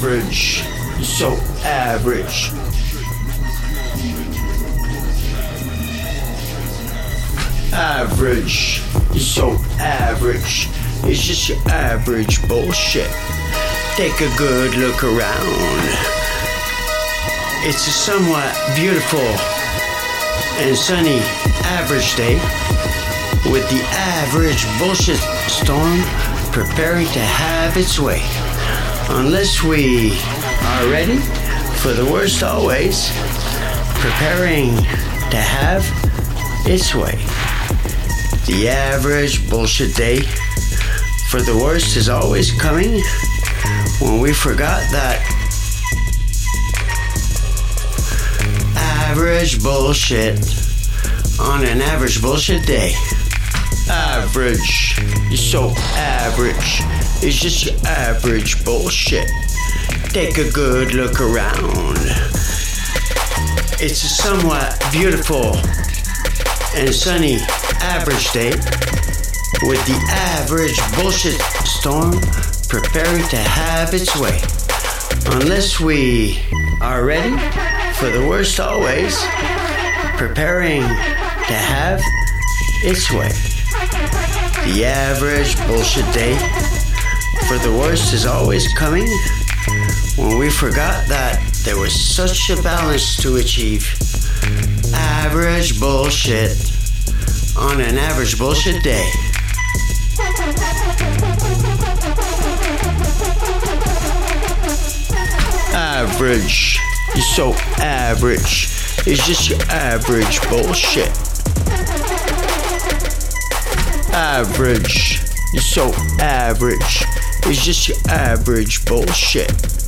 Average. So average. Average. So average. It's just your average bullshit. Take a good look around. It's a somewhat beautiful and sunny average day with the average bullshit storm preparing to have its way. Unless we are ready for the worst always, preparing to have its way. The average bullshit day for the worst is always coming when we forgot that average bullshit on an average bullshit day. Average. You're so average. It's just your average bullshit. Take a good look around. It's a somewhat beautiful and sunny average day with the average bullshit storm preparing to have its way. Unless we are ready for the worst always, preparing to have its way. The average bullshit day for the worst is always coming when we forgot that there was such a balance to achieve. Average bullshit on an average bullshit day. Average. You're so average. It's just your average bullshit. Average. You're so average. It's just your average bullshit.